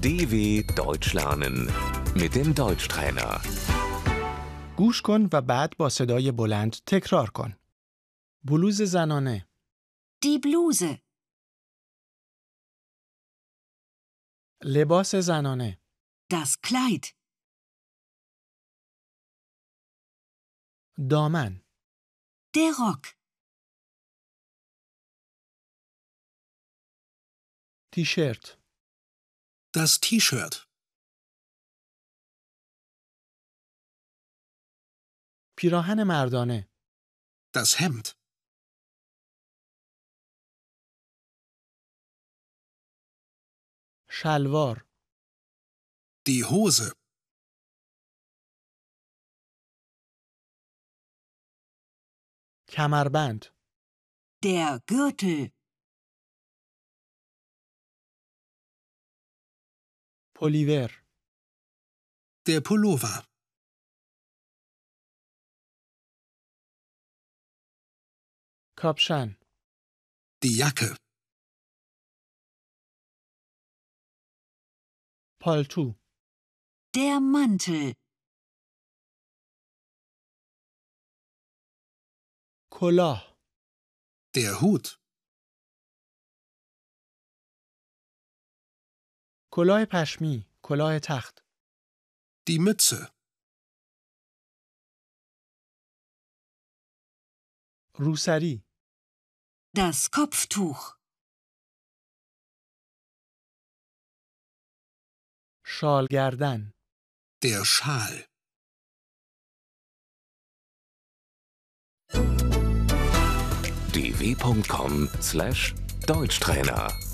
DW Deutsch lernen mit dem Deutschtrainer. گوش کن و بعد با صدای بلند تکرار کن. بلوز زنانه، Die Bluse, لباس زنانه، das Kleid, دامن، der Rock, تیشرت، Das T-Shirt, پیراهن مردانه، das Hemd, شلوار، die Hose, کمربند، der Gürtel, پلیور، der Pullover, کاپشن، die Jacke, پالتو، der Mantel, کلاه، der Hut, کلاه پشمی، کلاه تخت، die Mütze, روسری، das Kopftuch, شال گردن، der Schal. dw.com/Deutschtrainer